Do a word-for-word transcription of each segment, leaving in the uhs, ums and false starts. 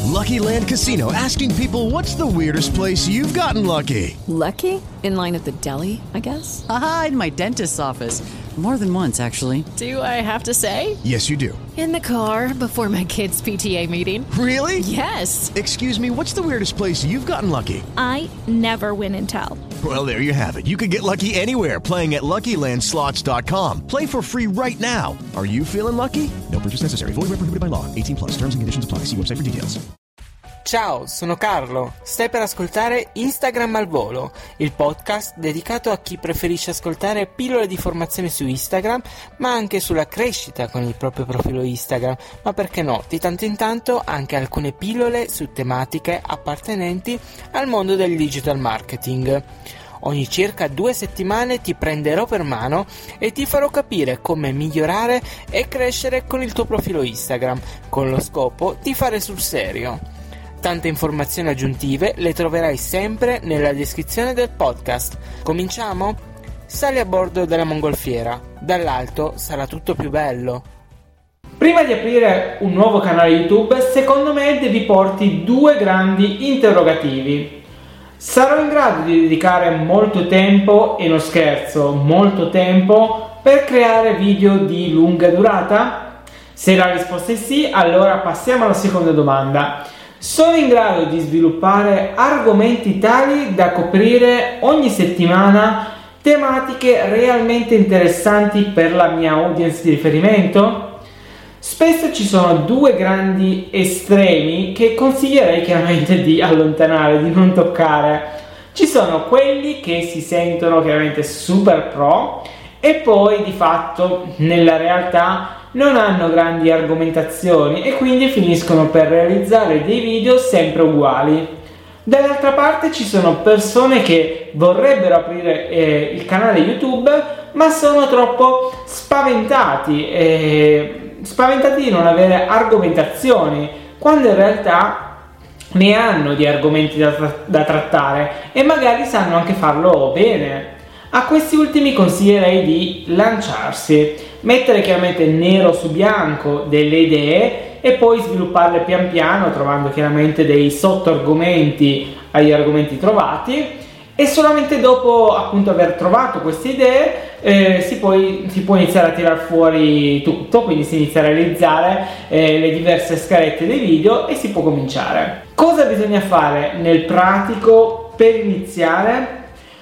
Lucky Land Casino, asking people, what's the weirdest place you've gotten lucky? Lucky? In line at the deli, I guess? Aha, in my dentist's office. More than once, actually. Do I have to say? Yes, you do. In the car before my kids' P T A meeting. Really? Yes. Excuse me, what's the weirdest place you've gotten lucky? I never win and tell. Well, there you have it. You can get lucky anywhere, playing at Lucky Land Slots dot com. Play for free right now. Are you feeling lucky? No purchase necessary. Void where prohibited by law. eighteen plus. Terms and conditions apply. See website for details. Ciao, sono Carlo. Stai per ascoltare Instagram al volo, il podcast dedicato a chi preferisce ascoltare pillole di formazione su Instagram, ma anche sulla crescita con il proprio profilo Instagram, ma perché no, di tanto in tanto anche alcune pillole su tematiche appartenenti al mondo del digital marketing. Ogni circa due settimane ti prenderò per mano e ti farò capire come migliorare e crescere con il tuo profilo Instagram, con lo scopo di fare sul serio. Tante informazioni aggiuntive le troverai sempre nella descrizione del podcast. Cominciamo? Sali a bordo della mongolfiera, dall'alto sarà tutto più bello. Prima di aprire un nuovo canale YouTube, secondo me devi porti due grandi interrogativi. Sarò in grado di dedicare molto tempo, e non scherzo, molto tempo, per creare video di lunga durata? Se la risposta è sì, allora passiamo alla seconda domanda. Sono in grado di sviluppare argomenti tali da coprire ogni settimana tematiche realmente interessanti per la mia audience di riferimento? Spesso ci sono due grandi estremi che consiglierei chiaramente di allontanare, di non toccare. Ci sono quelli che si sentono chiaramente super pro e poi di fatto nella realtà non hanno grandi argomentazioni e quindi finiscono per realizzare dei video sempre uguali. Dall'altra parte ci sono persone che vorrebbero aprire eh, il canale YouTube, ma sono troppo spaventati, eh, spaventati di non avere argomentazioni, quando in realtà ne hanno di argomenti da, tra- da trattare e magari sanno anche farlo bene. A questi ultimi consiglierei di lanciarsi, mettere chiaramente nero su bianco delle idee e poi svilupparle pian piano, trovando chiaramente dei sottoargomenti agli argomenti trovati, e solamente dopo appunto aver trovato queste idee eh, si, poi, si può iniziare a tirar fuori tutto, quindi si inizia a realizzare eh, le diverse scalette dei video e si può cominciare. Cosa bisogna fare nel pratico per iniziare?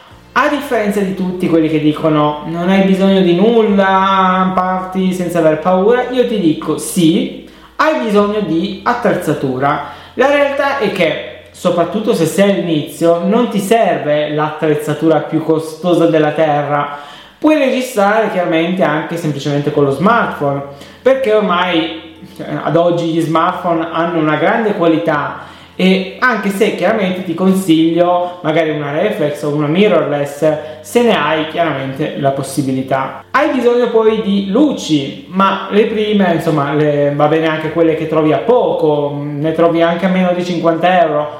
A differenza di tutti quelli che dicono non hai bisogno di nulla, parti senza aver paura, io ti dico sì, hai bisogno di attrezzatura. La realtà è che, soprattutto se sei all'inizio, non ti serve l'attrezzatura più costosa della terra. Puoi registrare chiaramente anche semplicemente con lo smartphone, perché ormai ad oggi gli smartphone hanno una grande qualità, e anche se chiaramente ti consiglio magari una reflex o una mirrorless se ne hai chiaramente la possibilità. Hai bisogno poi di luci, ma le prime insomma le, va bene anche quelle che trovi a poco, ne trovi anche a meno di cinquanta euro,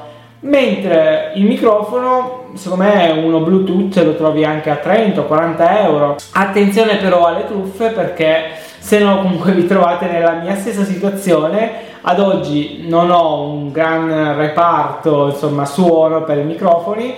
mentre il microfono secondo me uno Bluetooth lo trovi anche a trenta o quaranta euro. Attenzione però alle truffe, perché se no comunque vi trovate nella mia stessa situazione. Ad oggi non ho un gran reparto insomma suono per i microfoni,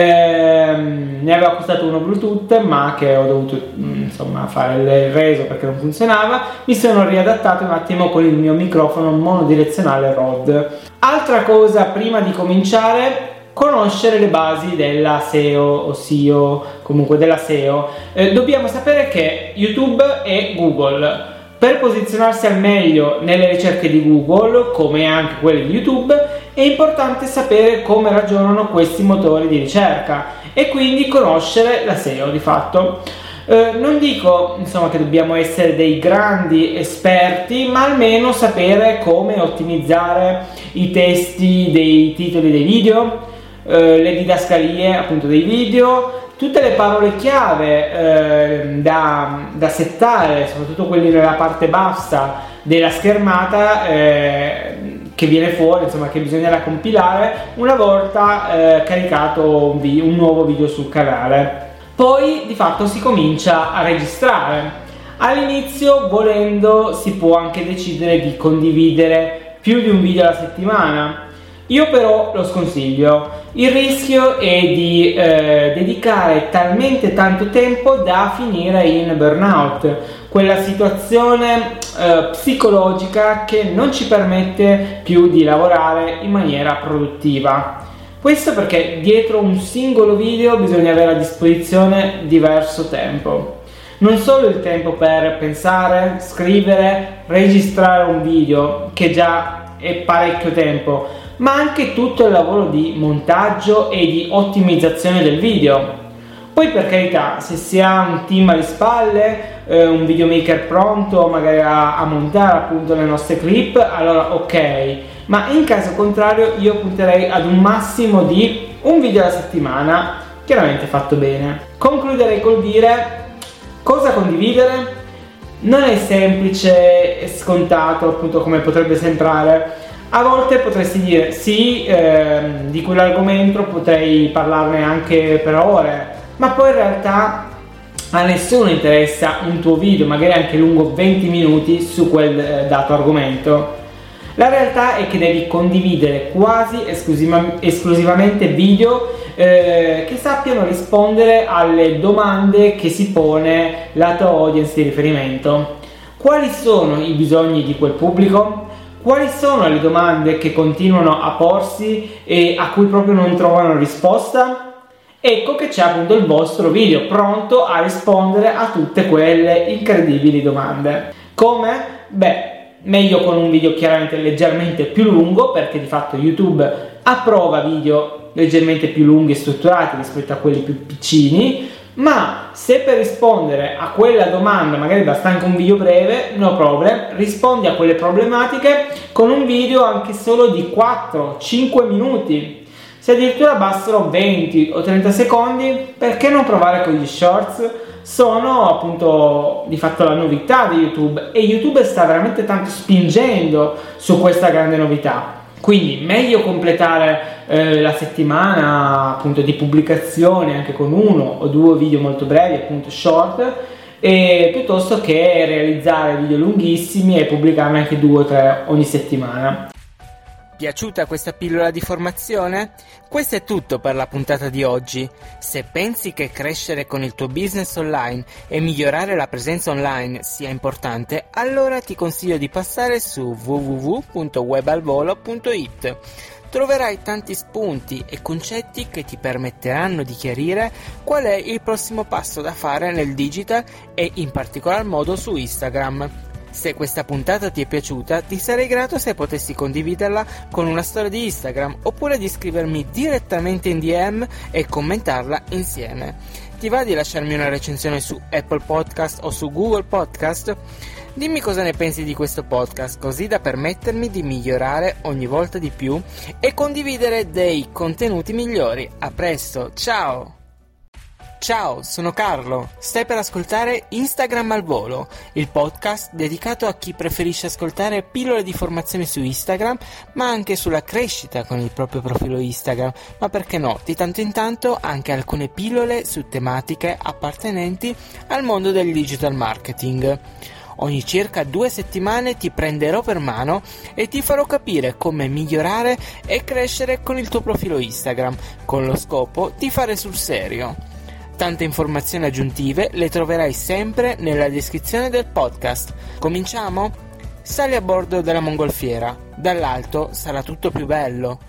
ehm, ne aveva costato uno Bluetooth ma che ho dovuto insomma fare il reso perché non funzionava. Mi sono riadattato un attimo con il mio microfono monodirezionale Rode. Altra cosa prima di cominciare: conoscere le basi della S E O o S E O, comunque della S E O. Eh, dobbiamo sapere che YouTube è Google. Per posizionarsi al meglio nelle ricerche di Google, come anche quelle di YouTube, è importante sapere come ragionano questi motori di ricerca e quindi conoscere la S E O di fatto. Eh, non dico insomma che dobbiamo essere dei grandi esperti, ma almeno sapere come ottimizzare i testi dei titoli dei video, eh, le didascalie appunto dei video, tutte le parole chiave eh, da, da settare, soprattutto quelli nella parte bassa della schermata, eh, che viene fuori, insomma, che bisognerà compilare una volta eh, caricato un, vi- un nuovo video sul canale. Poi di fatto si comincia a registrare. All'inizio, volendo, si può anche decidere di condividere più di un video alla settimana. Io però lo sconsiglio. Il rischio è di eh, dedicare talmente tanto tempo da finire in burnout, quella situazione eh, psicologica che non ci permette più di lavorare in maniera produttiva. Questo perché dietro un singolo video bisogna avere a disposizione diverso tempo. Non solo il tempo per pensare, scrivere, registrare un video, che già è parecchio tempo, ma anche tutto il lavoro di montaggio e di ottimizzazione del video. Poi, per carità, se si ha un team alle spalle, eh, un videomaker pronto magari a, a montare appunto le nostre clip, allora ok, ma in caso contrario io punterei ad un massimo di un video alla settimana, chiaramente fatto bene. Concluderei col dire: cosa condividere? Non è semplice e scontato appunto come potrebbe sembrare. A volte potresti dire sì, ehm, di quell'argomento potrei parlarne anche per ore, ma poi in realtà a nessuno interessa un tuo video, magari anche lungo venti minuti, su quel eh, dato argomento. La realtà è che devi condividere quasi esclusiva- esclusivamente video eh, che sappiano rispondere alle domande che si pone la tua audience di riferimento. Quali sono i bisogni di quel pubblico? Quali sono le domande che continuano a porsi e a cui proprio non trovano risposta? Ecco che c'è appunto il vostro video pronto a rispondere a tutte quelle incredibili domande. Come? Beh, meglio con un video chiaramente leggermente più lungo, perché di fatto YouTube approva video leggermente più lunghi e strutturati rispetto a quelli più piccini. Ma se per rispondere a quella domanda magari basta anche un video breve, no problem, rispondi a quelle problematiche con un video anche solo di quattro cinque minuti. Se addirittura bastano venti o trenta secondi, perché non provare con gli shorts? Sono appunto di fatto la novità di YouTube, e YouTube sta veramente tanto spingendo su questa grande novità. Quindi meglio completare eh, la settimana appunto di pubblicazione anche con uno o due video molto brevi, appunto short, e piuttosto che realizzare video lunghissimi e pubblicarne anche due o tre ogni settimana. Piaciuta questa pillola di formazione? Questo è tutto per la puntata di oggi. Se pensi che crescere con il tuo business online e migliorare la presenza online sia importante, allora ti consiglio di passare su w w w punto webalvolo punto i t. Troverai tanti spunti e concetti che ti permetteranno di chiarire qual è il prossimo passo da fare nel digital e in particolar modo su Instagram. Se questa puntata ti è piaciuta, ti sarei grato se potessi condividerla con una storia di Instagram, oppure di scrivermi direttamente in D M e commentarla insieme. Ti va di lasciarmi una recensione su Apple Podcast o su Google Podcast? Dimmi cosa ne pensi di questo podcast, così da permettermi di migliorare ogni volta di più e condividere dei contenuti migliori. A presto, ciao! Ciao, sono Carlo. Stai per ascoltare Instagram al volo, il podcast dedicato a chi preferisce ascoltare pillole di formazione su Instagram, ma anche sulla crescita con il proprio profilo Instagram, ma perché no, di tanto in tanto anche alcune pillole su tematiche appartenenti al mondo del digital marketing. Ogni circa due settimane ti prenderò per mano e ti farò capire come migliorare e crescere con il tuo profilo Instagram, con lo scopo di fare sul serio. Tante informazioni aggiuntive le troverai sempre nella descrizione del podcast. Cominciamo? Sali a bordo della mongolfiera. Dall'alto sarà tutto più bello.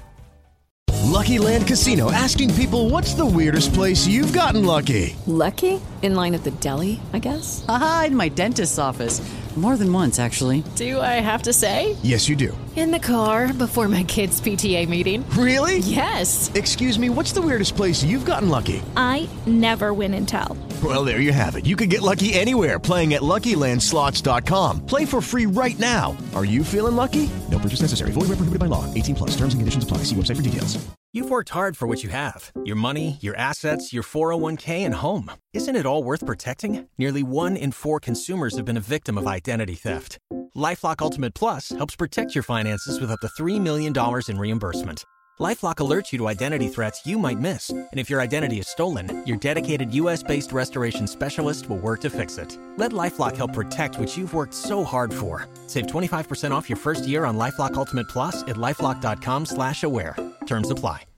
Lucky Land Casino, asking people, what's the weirdest place you've gotten lucky? Lucky? In line at the deli, I guess? Aha, in my dentist's office. More than once, actually. Do I have to say? Yes, you do. In the car before my kids' P T A meeting. Really? Yes. Excuse me, what's the weirdest place you've gotten lucky? I never win and tell. Well, there you have it. You can get lucky anywhere, playing at Lucky Land Slots dot com. Play for free right now. Are you feeling lucky? No purchase necessary. Void where prohibited by law. eighteen plus. Terms and conditions apply. See website for details. You've worked hard for what you have. Your money, your assets, your four oh one k, and home. Isn't it all worth protecting? Nearly one in four consumers have been a victim of identity theft. LifeLock Ultimate Plus helps protect your finances with up to three million dollars in reimbursement. LifeLock alerts you to identity threats you might miss. And if your identity is stolen, your dedicated U S-based restoration specialist will work to fix it. Let LifeLock help protect what you've worked so hard for. Save twenty-five percent off your first year on LifeLock Ultimate Plus at LifeLock.com slash aware. Terms apply.